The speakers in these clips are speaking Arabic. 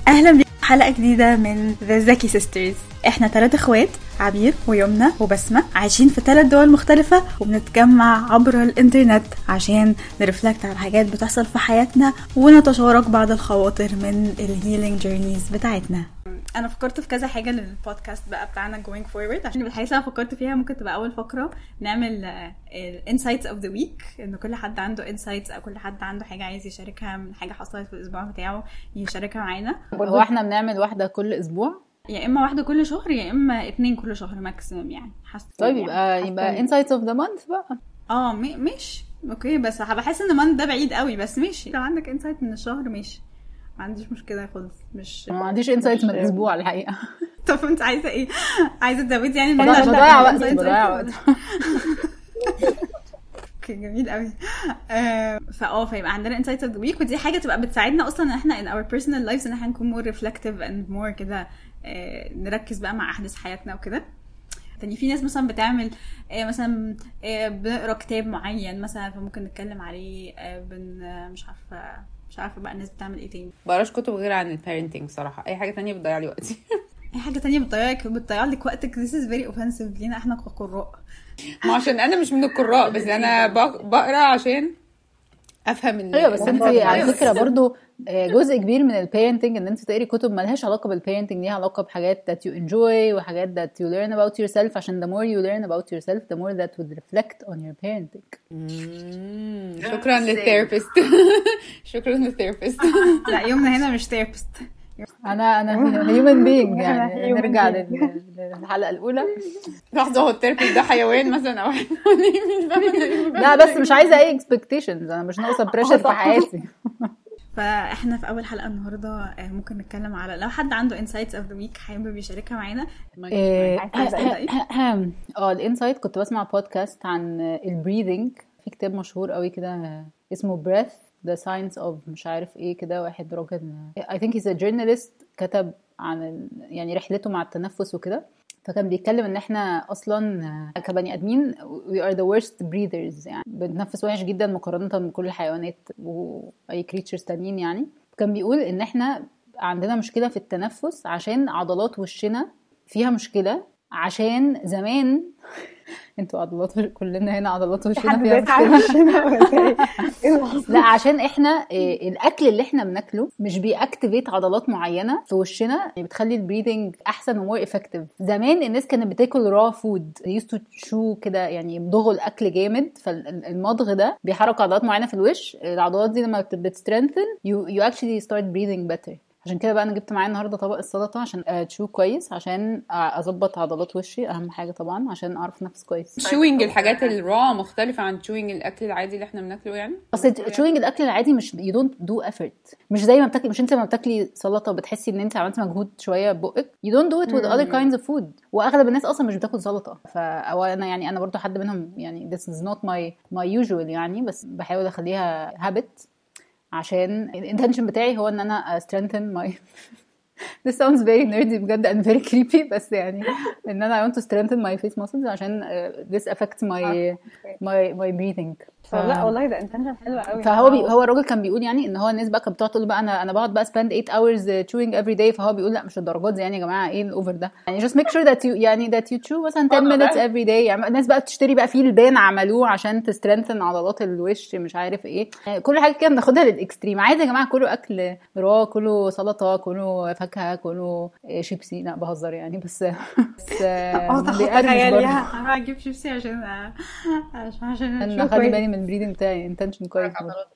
اهلا بكم حلقه جديده من The Zaki Sisters. احنا 3 اخوات، عبير ويمنى وبسمة، عايشين في 3 دول مختلفه وبنتجمع عبر الانترنت عشان نرفلكت على حاجات بتحصل في حياتنا ونتشارك بعض الخواطر من الهيلينج جيرنيز بتاعتنا. انا فكرت في كذا حاجه للبودكاست بقى بتاعنا going forward، عشان الحقيقه اللي فكرت فيها ممكن تبقى اول فقره نعمل الانسايتس اوف ذا ويك، ان كل حد عنده انسايتس او كل حد عنده حاجه عايز يشاركها من حاجه حصلت في الاسبوع بتاعه يشاركها معانا. هو احنا بنعمل واحده كل اسبوع، يا اما واحده كل شهر يا اما 2 كل شهر ماكسيمم يعني. طيب يبقى انسايتس اوف ذا مانث بقى. ماشي اوكي، بس بحس ان مانث ده بعيد قوي، بس ماشي لو عندك انسايت من الشهر ماشي، ما عنديش مشكله خالص. ما عنديش انسايت من الاسبوع الحقيقه. طب انت عايزه ايه؟ عايزه تزودي يعني بضيع وقت. اوكي جميل قوي. فيبقى عندنا انسايتس اوف ذا ويك، ودي حاجه تبقى بتساعدنا اصلا ان احنا in our personal lives ان احنا نكون more reflective and more كده، نركز بقى مع احداث حياتنا وكده. تاني في ناس مثلا بتعمل مثلا بنقرا كتاب معين مثلا فممكن نتكلم عليه، مش عارفه بقى الناس بتعمل ايه تاني. بقراش كتب غير عن البيرنتنج صراحه، اي حاجه تانية بتضيع لي وقتي. اي حاجه تانية بتضيع لك وقتك. this is very offensive لينا احنا كقراء. ما عشان انا مش من القراء، بس انا بقرا عشان افهم. ايوه بس انت على فكره برضو جزء كبير من البيرنتنج ان انت تقري كتب مالهاش علاقه بالبيرنتنج، ليها علاقه بحاجات that you enjoy وحاجات that you learn about yourself، عشان the more you learn about yourself the more that would reflect on your parenting. شكرا للثيرابيست. شكرا للثيرابيست. لا يومنا هنا مش ثيرابيست، انا human being يعني. نرجع للحلقه الاولى. لحظه، هو الثيرابيست ده حيوان مثلا او لا بس مش عايزه اي expectations، انا مش ناقصه بريشر في حياتي. فاحنا في اول حلقه النهارده ممكن نتكلم على لو حد عنده انسايتس اوف ذا ويك حابب يشاركها معانا. الانسايت كنت بسمع بودكاست عن البريذنج، في كتاب مشهور قوي كده اسمه breath the science of مش عارف ايه كده، واحد راجل I think he's a journalist كتب عن يعني رحلته مع التنفس وكده، فكان بيتكلم ان احنا اصلا كبني ادمين we are the worst breathers، يعني بنتنفس وحش جدا مقارنة بكل الحيوانات واي creatures تانيين يعني. كان بيقول ان احنا عندنا مشكلة في التنفس عشان عضلات وشنا فيها مشكلة، عشان زمان انتوا عضلات كلنا هنا عضلات وشنا فيها مشكلة. لا عشان احنا الاكل اللي احنا بناكله مش بيأكتيفيت عضلات معينة في وشنا، يعني بتخلي البريدنج احسن ومور افكتيف. زمان الناس كانت بتاكل را فود يستو شو كده، يعني يمضغوا الاكل جامد، فالمضغ ده بيحرك عضلات معينة في الوش، العضلات دي لما بتسترنثن you actually start breathing better. عشان كده بقى انا جبت معايا النهارده طبق السلطه عشان تشو كويس، عشان اظبط عضلات وشي، اهم حاجه طبعا عشان اعرف نفس كويس. تشوينج الحاجات الرا مختلفه عن تشوينج الاكل العادي اللي احنا بناكله يعني. اصل تشوينج الاكل العادي مش you don't do effort، مش زي ما بتاكلي، مش انت لما بتاكلي سلطه بتحسي ان انت عملتي مجهود شويه ببقك، you don't do it with other kinds of food. واغلب الناس اصلا مش بتاكل سلطه، فانا يعني انا برضو حد منهم يعني this is not my usual يعني، بس بحاول اخليها habit عشان الانتنشن بتاعي هو ان انا strengthen my this sounds very nerdy بجد and very creepy، بس يعني ان انا I want to strengthen my face muscles عشان this affects my breathing. لا والله ده intention حلوة قوي. هو الراجل كان بيقول يعني ان هو الناس بقى كانت بتقعد تقول بقى انا بقعد بقى spend 8 hours chewing every day، فهو بيقول لا مش الدرجات دي يعني يا جماعه، ايه الاوفر ده يعني. just make sure that you chew مثلا 10 minutes every day. يعني الناس بقى بتشتري بقى فيه البان عملوه عشان تسترنثن عضلات الوش مش عارف ايه، يعني كل حاجه كده بناخدها للاكستريم. عايز يا جماعه كله اكل راه، كله سلطه، كله فاكهه، كله شيبسي. لا بهزر يعني، بس تخيلي انا هجيب شيبسي عشان انا خلي بالي من البريدنج بتاعي intention كويس.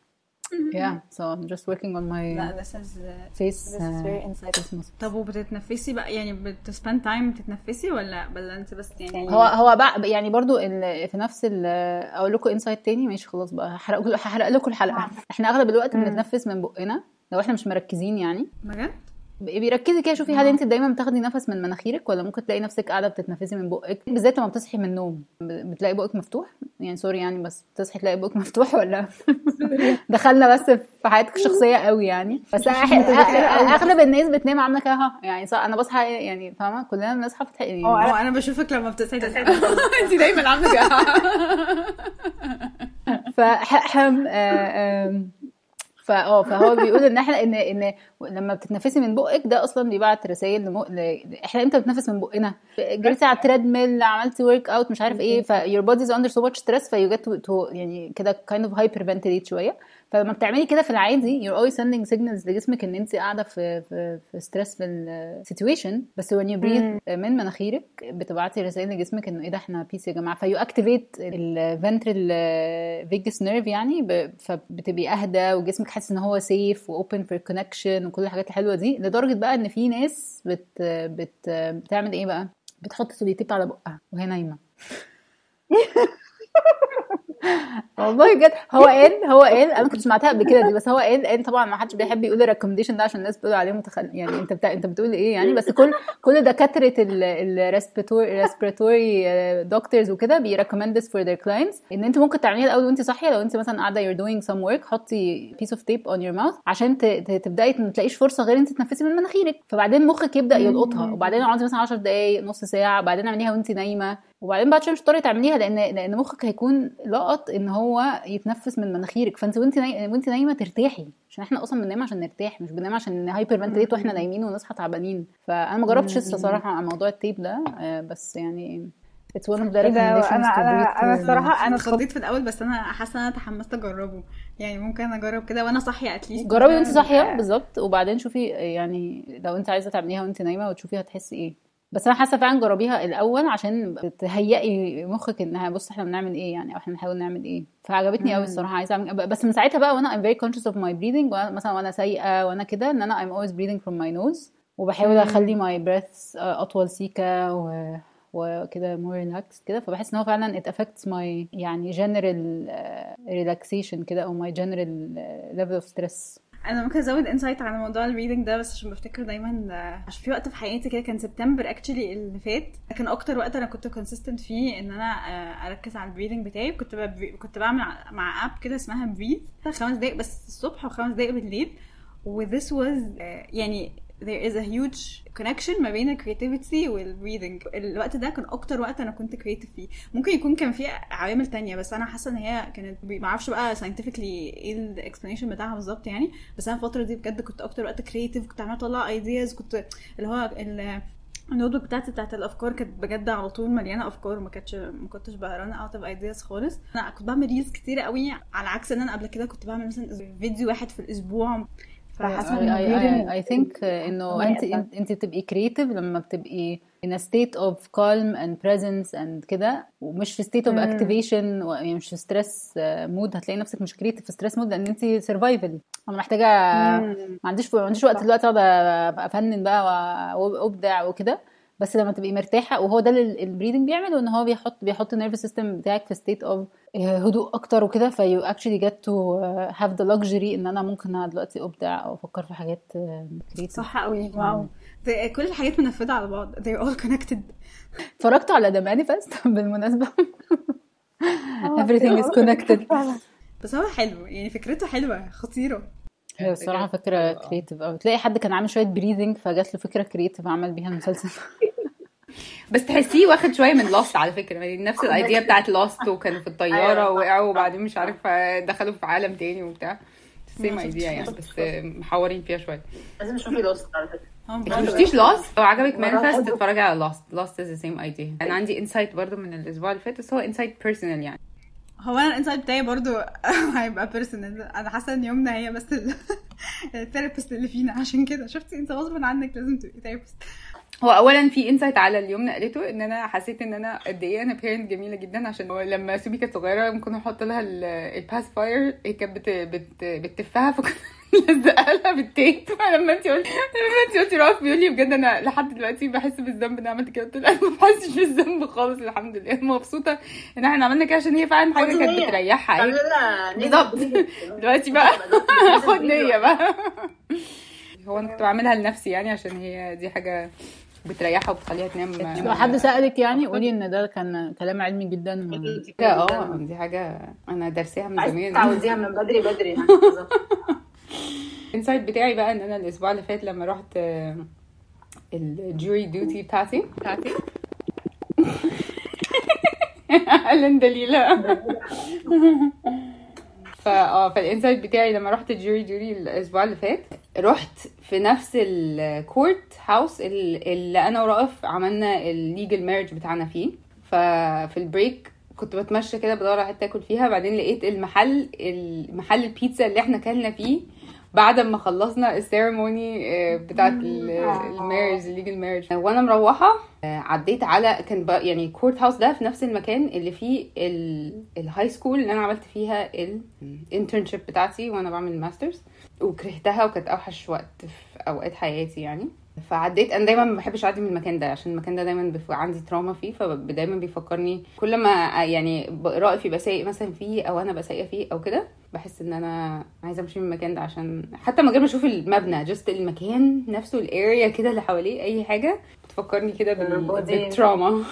so I'm just working on my face. This is very insightful. طب وبتتنفسي بقى يعني بتسبند تايم تتنفسي ولا انت بس يعني هو بقى يعني برضو في نفس اقول لكم انسايت تاني ماشي خلاص بقى هحرق لكم الحلقه. احنا اغلب الوقت بنتنفس من بقنا لو احنا مش مركزين يعني بجد. بيركزي كده شوفي هل انت دايما بتاخدي نفس من مناخيرك ولا ممكن تلاقي نفسك قاعده بتتنفسي من بقك، بالذات لما بتصحي من النوم بتلاقي بقك مفتوح يعني سوري يعني، بس بتصحي تلاقي بقك مفتوح ولا دخلنا بس في حياتك الشخصيه قوي يعني. بس اغلب الناس بتنام عامله كده يعني انا بصحى يعني فاهمه كلنا بنصحى يعني انا بشوفك لما بتصحي انت دايما عامله كده. فهو بيقول ان احنا ان لما بتتنفسي من بقك ده اصلا بيبعت رسائل احنا امتى بنتنفس من بقنا؟ جريتي على التريد ميل، عملتي ورك اوت مش عارف ايه، your body is under so much stress فيو جيت تو يعني كده kind of hyperventilate شويه. فلما بتعملي كده في العادي you're always sending signals لجسمك ان انت قاعده في stressful situation، بس when you breathe من مناخيرك بتبعتي رسائل لجسمك انه ايه ده احنا بيس يا جماعه، فيو اكتيفيت الفنترال فيجاس نيرف يعني، فبتبقي اهدى وجسمك حاسس ان هو سيف واوبن فور كونكشن وكل الحاجات الحلوه دي، لدرجه بقى ان في ناس بتعمل ايه بقى، بتحط سوليتيب على بقها وهي نايمه. والله بجد هو قال انا كنت سمعتها قبل كده دي، بس هو قال طبعا ما حدش بيحب يقول الريكومنديشن ده عشان الناس بتقول عليه يعني انت بتقول ايه يعني، بس كل دكاتره الريسبيراتوري دكتورز وكده بيريكومند this for their clients ان انت ممكن تعمليها الاول وانت صاحيه. لو انت مثلا قاعده you're doing some work حطي piece of tape on your mouth عشان تبداي ما تلاقيش فرصه غير انت تتنفسي من مناخيرك، فبعدين مخك يبدا يلقطها، وبعدين اقعدي مثلا 10 دقائق نص ساعه، بعدين اعمليها وانت نايمه، وبعدين بعد شويه مش هتقدري تعمليها لان مخك هيكون لقط ان هو يتنفس من مناخيرك، فانت وانت نايمه ترتاحي، عشان احنا اصلا بننام عشان نرتاح، مش بننام عشان هايبر فنتليت واحنا نايمين ونصحى تعبانين. فانا ما جربتش لسه صراحه على موضوع التيب ده، بس يعني it's one of the recommendations to breathe. انا الصراحه انا اتخضيت في الاول، بس انا حاسه ان انا تحمست اجربه، يعني ممكن اجرب كده وانا صاحيه اتليست. جربي وانت صاحيه بالظبط، وبعدين شوفي يعني لو انت عايزه تعمليها وانت نايمه وتشوفي هتحسي ايه. بس انا حاسه فعلا جربيها الاول عشان تهيئي مخك انها بص احنا بنعمل ايه يعني، او احنا بنحاول نعمل ايه. فعجبتني قوي الصراحه، عايزه اعمل. بس من ساعتها بقى وانا I'm very conscious of my breathing، مثلا وانا سايقه وانا كده ان انا I'm always breathing from my nose، وبحاول اخلي my breaths اطول سيكه وكده more relaxed كده، فبحس ان هو فعلا it affects my يعني general relaxation كده، او my general level of stress. انا ممكن ازود انسايت على موضوع الريدنج ده، بس عشان بفتكر دايما عشان في وقت في حياتي كده كان سبتمبر اكشلي اللي فات، كان اكتر وقت انا كنت كونسيستنت فيه ان انا اركز على البريدنج بتاعي. كنت بعمل مع اب كده اسمها بريث 5 دقايق بس الصبح و5 دقايق بالليل، و this was يعني there is a huge connection ما بين الكرياتيفيتي والبريدنج. الوقت ده كان اكتر وقت انا كنت كرياتيف فيه. ممكن يكون كان فيه عوامل تانية، بس انا حاسه ان هي كانت ما اعرفش بقى scientifically ايه الاكسبلانيشن بتاعها بالظبط يعني، بس انا الفتره دي بجد كنت اكتر وقت كرياتيف، كنت عماله اطلع ايدياز، كنت اللي هو النوت بوك بتاعت الافكار كانت بجد على طول مليانه افكار، ما كنتش بقرا اوت اوف ايدياز خالص. انا كنت بعمل ريلز كتير قوي، على عكس ان انا قبل كده كنت بعمل مثلا فيديو واحد في الاسبوع. I think انه انت بتبقي creative لما بتبقي in a state of calm and presence and كده، ومش في state of activation، يعني مش في stress mood. هتلاقي نفسك مش creative في stress mood لان انت survival. انا محتاجه ما عنديش وقت دلوقتي اقعد افنن بقى وابدع وكده، بس لما تبقي مرتاحه، وهو ده اللي البريدنج بيعمله، ان هو بيحط النيرفس سيستم بتاعك في state of هدوء اكتر وكده، فيو actually get to have the luxury ان انا ممكن دلوقتي ابدع او افكر في حاجات creative. صح قوي. واو، كل الحاجات منفذه على بعض، they're all connected. اتفرجت على The Manifest بالمناسبه. everything is connected. بس هو حلو يعني، فكرته حلوه خطيره. هي الصراحه فكره كرييتيف، او تلاقي حد كان عامل شويه بريذنج فجات له فكره كرييتيف عمل بيها المسلسل. بس تحسيه واخد شويه من لاست على فكره، يعني نفس الايديا بتاعت لاست، وكانوا في الطياره وقعوا وبعدين مش عارفه دخلوا في عالم تاني وبتاع، سيم ايديا يعني، بس محورين فيها شويه. لازم تشوفي لاست على فكره. ما شفتيش لاست؟ لو عجبك مانيفست تتفرجي على لاست از ذا سيم ايديا. انا عندي انسايت برضو من الاسبوع اللي فات، بس هو انسايت بيرسونال يعني. هو انا الانسايت بتاعي برضو هيبقى بيرسونال. انا حاسه ان يومنا هي بس الثيرابيست اللي فينا، عشان كده شفتي انت غصب عنك لازم تبقي ثيرابيست. هو اولا في انسايت على اليوم قالته ان انا حسيت ان انا قد ايه انا بيرنت جميله جدا، عشان لما سوبي كانت صغيره ممكن احط لها الباسفاير، هي كانت بتفها، فكنت لزقها لها بالتيب. فلما انت قلتي رأف بيقول لي بجد انا لحد دلوقتي بحس بالذنب ان عملت كده. قلت له انا ما بحسش بالذنب خالص، الحمد لله مبسوطه ان احنا عملنا كده، عشان هي فعلا حاجه كانت بتريحها. بالظبط. دلوقتي بقى خد نيه بقى. هو انا كنت بعملها لنفسي يعني، عشان هي دي حاجه بتريحها وبتخليها تنام. لو حد سألك يعني قولي ان ده كان كلام علمي جدا. دي حاجه انا درسيها من زمان، تعوديها من بدري يعني. الانسايت بتاعي بقى ان انا الاسبوع اللي فات لما رحت الجوري ديوتي بتاعتي اهلا دليلة. فالانسايت بتاعي لما رحت الجوري الاسبوع اللي فات، رحت في نفس الكورت هاوس اللي انا ورائف عملنا الليجل مارج بتاعنا فيه. ففي البريك كنت بتمشى كده بدور على حته اكل فيها، بعدين لقيت المحل البيتزا اللي احنا كلنا فيه بعد ما خلصنا السيرموني بتاعت المارج الليجل مارج. وانا مروحه عديت على كان يعني كورت هاوس ده في نفس المكان اللي فيه الهاي سكول اللي انا عملت فيها الانترنشيب بتاعتي وانا بعمل ماسترز، وكرهتها وكانت اوحش وقت في اوقات حياتي يعني. فعديت، انا دايما ما بحبش اعدي من المكان ده عشان المكان ده دايما عندي تراما فيه، فدايما بيفكرني كل ما يعني رائف يبقى سايق مثلا فيه او انا بسايقه فيه او كده، بحس ان انا عايزه امشي من المكان ده عشان حتى من غير ما اشوف المبنى، جست المكان نفسه الاريا كده اللي حواليه اي حاجه بتفكرني كده بالتراما.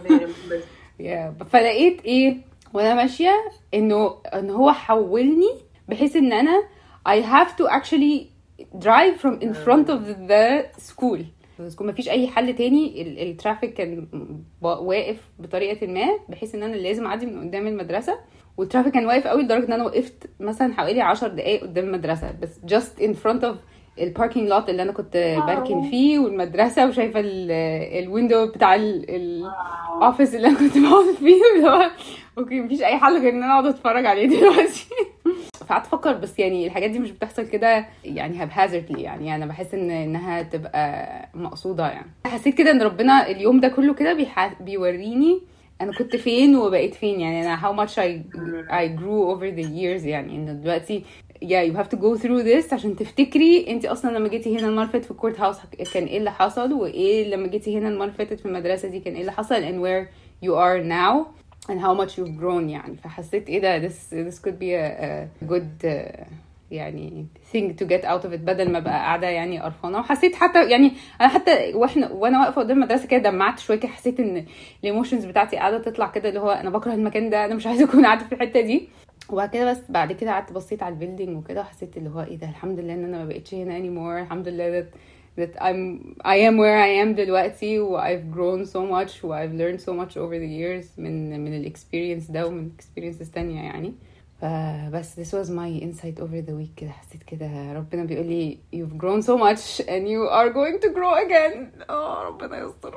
فلقيت ايه وانا ماشيه ان هو حولني بحيث ان انا I have to actually drive from in front of the school. ما فيش اي حل تاني، الترافيك كان واقف بطريقه ما بحيث ان انا لازم اعدي من قدام المدرسه، والترافيك كان واقف قوي لدرجه ان انا وقفت مثلا حوالي 10 دقايق قدام المدرسه بس just in front of الباركينج لوت اللي انا كنت بركن فيه والمدرسه، وشايفه الويندو بتاع الاوفيس اللي انا كنت بقعد فيه، اللي هو اوكي مفيش اي حل غير ان انا اقعد اتفرج عليه دلوقتي. فقعدت افكر بس يعني الحاجات دي مش بتحصل كده يعني haphazardly، يعني انا بحس انها تبقى مقصوده. يعني حسيت كده ان ربنا اليوم ده كله كده بيوريني انا كنت فين وبقيت فين، يعني انا how much I grew over the years. يعني ان دلوقتي you have to go through this عشان تفتكري انت اصلا لما جيتي هنا المره اللي فاتت في الكورت هاوس كان ايه اللي حصل، وايه لما جيتي هنا المره اللي فاتت في المدرسه دي كان ايه اللي حصل، and where you are now and how much you've grown. يعني فحسيت ايه ده this could be a good يعني thing to get out of it، بدل ما بقى قاعده يعني قرفانه. وحسيت حتى يعني انا حتى وانا واقفه قدام المدرسه كده دمعت شويه كده، حسيت ان الايموشنز بتاعتي قاعده تطلع كده، اللي هو انا بكره المكان ده، انا مش عايزه اكون قاعده في الحته دي. وبعد كده بس بعد كده قعدت بصيت على البيلدينج وكده، وحسيت اللي هو ايه ده، الحمد لله ان انا ما بقتش هنا anymore، الحمد لله that I am where I am دلوقتي، و I've grown so much و I've learned so much over the years من الاكسبيرينس ده ومن experiences تانية يعني. فبس this was my insight over the week. كده حسيت كده ربنا بيقول لي you've grown so much and you are going to grow again. ربنا يستر.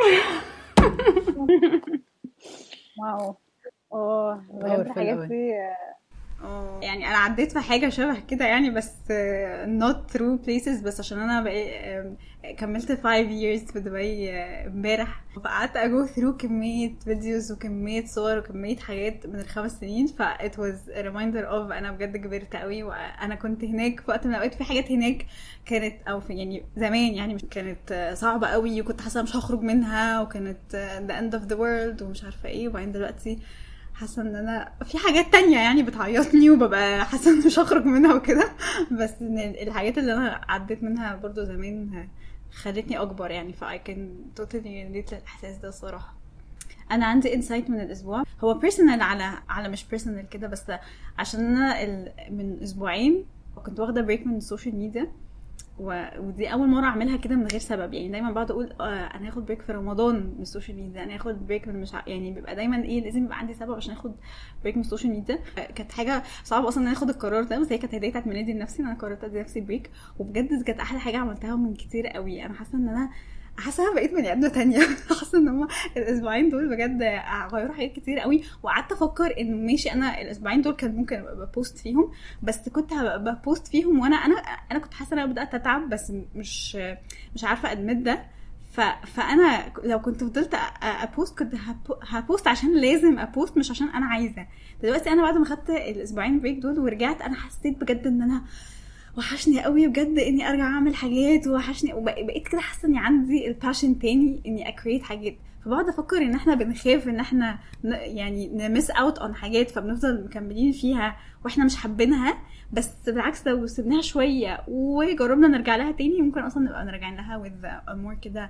واو بجد الحاجات دي يعني انا عديت في حاجه شبه كده يعني، بس not through places، بس عشان انا بقى كملت 5 years في دبي امبارح، فقعدت go through كميه فيديوز وكميه صور وكميه حاجات من ال5 سنين. ف it was a reminder of انا بجد كبرت قوي، وانا كنت هناك في وقت من الاوقات في حاجات هناك كانت او في يعني زمان يعني مش كانت صعبه قوي، وكنت حاسه مش هخرج منها، وكانت the end of the world ومش عارفه ايه. وبعدين دلوقتي حاسه ان انا في حاجات تانية يعني بتعيطني وببقى حاسه ان مش هخرج منها وكده، بس ان الحاجات اللي انا عديت منها برضو زمان خلتني اكبر يعني. ف I can totally relate للاحساس ده الصراحه. انا عندي انسايت من الاسبوع، هو بيرسونال على مش بيرسونال كده، بس عشان انا من اسبوعين كنت واخده بريك من السوشيال ميديا، ودي اول مره اعملها كده من غير سبب. يعني دايما بقعد اقول انا هاخد بريك في رمضان من السوشيال ميديا، انا هاخد بريك من يعني بيبقى دايما ايه لازم يبقى عندي سبب عشان اخد بريك من السوشيال ميديا. كانت حاجه صعبه اصلا ان انا اخد القرار ده، بس هي كانت هديه بتاعت ميلادي لنفسي ان انا قررت ادي نفسي بريك، وبجد كانت احلى حاجه عملتها من كتير قوي. انا حاسه ان انا بقيت بني ادمه تانية. حاسه ان هم الاسبوعين دول بجد غيروا حاجات كتير قوي. وقعدت افكر انه ماشي انا الاسبوعين دول كان ممكن ابقى بوست فيهم، بس كنت هبقى بوست فيهم وانا كنت حاسه ان انا بدات اتعب، بس مش عارفه ادمت ده. فانا لو كنت فضلت ابوست كنت هبوست عشان لازم ابوست، مش عشان انا عايزه. دلوقتي انا بعد ما خدت الاسبوعين بريك دول ورجعت، انا حسيت بجد ان انا وحشني قوي بجد اني ارجع اعمل حاجات، وحشني وبقيت كده حاسه اني عندي الباشن تاني اني اكريت حاجات. فبقعد افكر ان احنا بنخاف ان احنا يعني نمس اوت اون حاجات، فبنفضل مكملين فيها واحنا مش حابينها. بس بالعكس لو سيبناها شويه وجربنا نرجع لها تاني، ممكن اصلا نبقى نرجع لها with more كده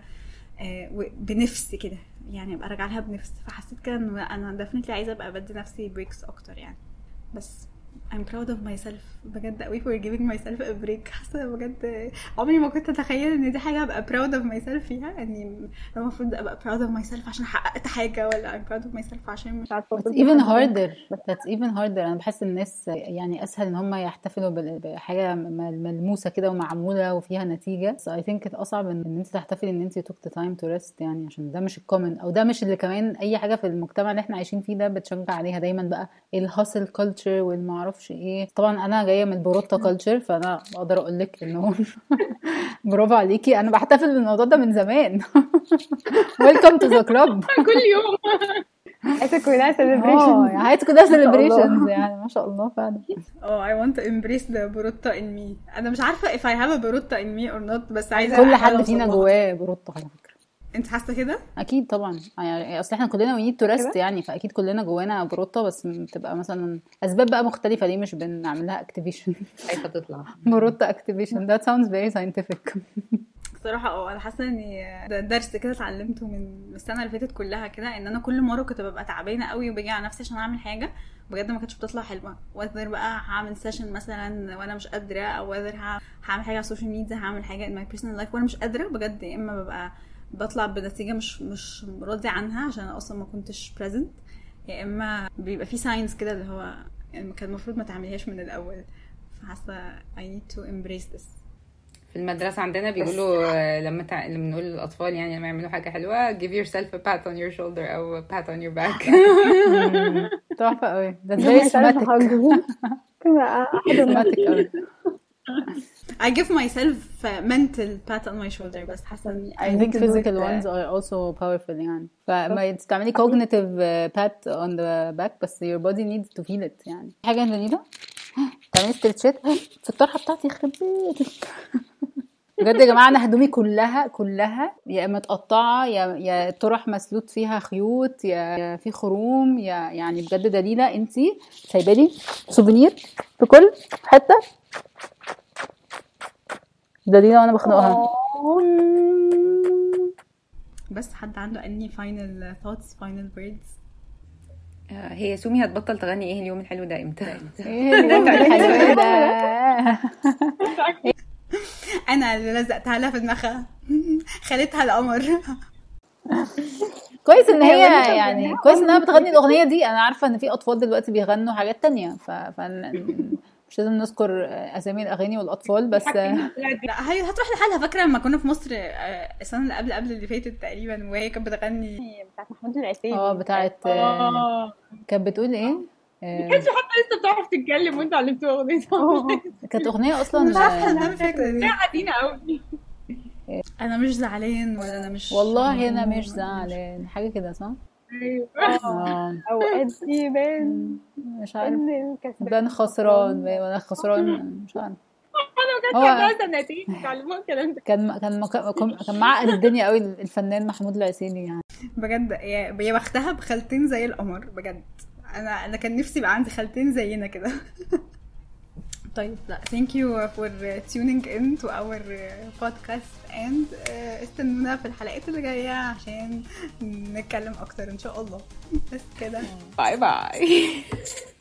بنفس كده، يعني ابقى ارجع لها بنفس. فحسيت كده ان انا ديفنتلي عايزه ابقى بدي نفسي بريكس اكتر يعني. بس I'm proud of myself بجد قوي for giving myself a break. حاسه بجد عمري ما كنت اتخيل ان دي حاجه ابقى proud of myself فيها. يعني المفروض ابقى proud of myself عشان حققت حاجه ولا I'm proud of myself عشان مش عارفه. That's even harder. That's even harder. انا بحس الناس يعني اسهل ان هم يحتفلوا بحاجه ملموسه كده ومعموله وفيها نتيجه. So I think اصعب ان انت تحتفلي ان انت took the time to rest يعني عشان ده مش الكومن او ده مش اللي كمان اي حاجه في المجتمع اللي احنا عايشين فيه ده بتشجع عليها دايما بقى الهاسل كلتشر والمعرفش ايه. طبعا انا جايه من البروتا كلتشر فانا اقدر اقول لك انه برافو عليكي. انا بحتفل بالموضوع ده من زمان. Welcome to the club. كل يوم حياتك كلها celebration. حياتك كلها celebrations يعني ما شاء الله فعلا. I want to embrace the بروتا in me. انا مش عارفه if I have a بروتا in me or not بس عايزه كل حد فينا جواه بروتا على فكره. انت حاسه كده؟ اكيد طبعا يعني اصل احنا كلنا we need to rest يعني فاكيد كلنا جوانا بروتا بس بتبقى مثلا اسباب بقى مختلفه ليه مش بنعمل لها activation. خايفه تطلع بروتا activation. That sounds very scientific. صراحه انا حاسه ان ده درس كده اتعلمته من السنه اللي فاتت كلها كده ان انا كل مره كنت ببقى تعبانه قوي وباجي على نفسي عشان اعمل حاجه بجد ما كانتش بتطلع حلوه. وذر بقى هعمل سيشن مثلا وانا مش قادره او وذر هعمل حاجه على السوشيال ميديا هعمل حاجه in my personal life وانا مش قادره بجد. يا اما ببقى بطلع بنتيجه مش راضي عنها عشان اصلا ما كنتش present يا اما بيبقى في ساينز كده اللي هو يعني كان المفروض ما تعمليهاش من الاول. فحاسه I need to embrace this. في المدرسة عندنا بيقولوا لما بنقول للأطفال يعني لما يعملوا حاجة حلوة give yourself a pat on your shoulder أو a pat on your back. تحفة قوي. That's very somatic. somatic. I give myself mental pat on my shoulder بس حاسة إني I think physical ones are also powerful يعني. فما تستعملي cognitive pat on the back بس your body needs to feel it يعني. حاجة جديدة تعملي استرتشات في الطرحة بتاعتي يخرب بيتك. بجد يا جماعه انا هدومي كلها يا اما متقطعه يا طرح مسلوط فيها خيوط يا في خروم يعني بجد دليله انتي سايبه لي سوفينير في كل حته دليله وانا بخنقها. بس حد عنده اني final thoughts final words؟ هي سومي هتبطل تغني ايه اليوم الحلو ده امتى؟ ايه اليوم الحلو ده؟ انا اللي لزقتها لها في دماغها خليتها القمر. كويس ان هي يعني كويس انها بتغني الاغنيه دي. انا عارفه ان في اطفال دلوقتي بيغنوا حاجات تانية مش لازم نذكر اسامي الاغاني والاطفال بس. لا هي هتروح لحالها. فاكره لما كنا في مصر السنه اللي قبل اللي فاتت تقريبا وهي كانت بتغني بتاعت محمود العسيلي. بتاعت كانت بتقول ايه ما كانتش حتى لسه بتعرف تتكلم وانت علمتوها اغنيه. كانت اغنيه اصلا مش عارفه انا فاكره دي حزينه قوي. انا مش زعلان ولا انا مش والله انا مش زعلان حاجه كده صح. اوقات يبان مش عارف بان خسران وانا خسران مش عارف. انا كنت سنتين تعلموا الكلام ده. كان معقد الدنيا قوي الفنان محمود العسيلي يعني بجد. يا بختها بخالتين زي القمر بجد. انا كان نفسي يبقى عندي خالتين زينا كده. طيب لا thank you for tuning in to our podcast and استنونا في الحلقات اللي جاية عشان نتكلم اكتر ان شاء الله. بس كده باي باي.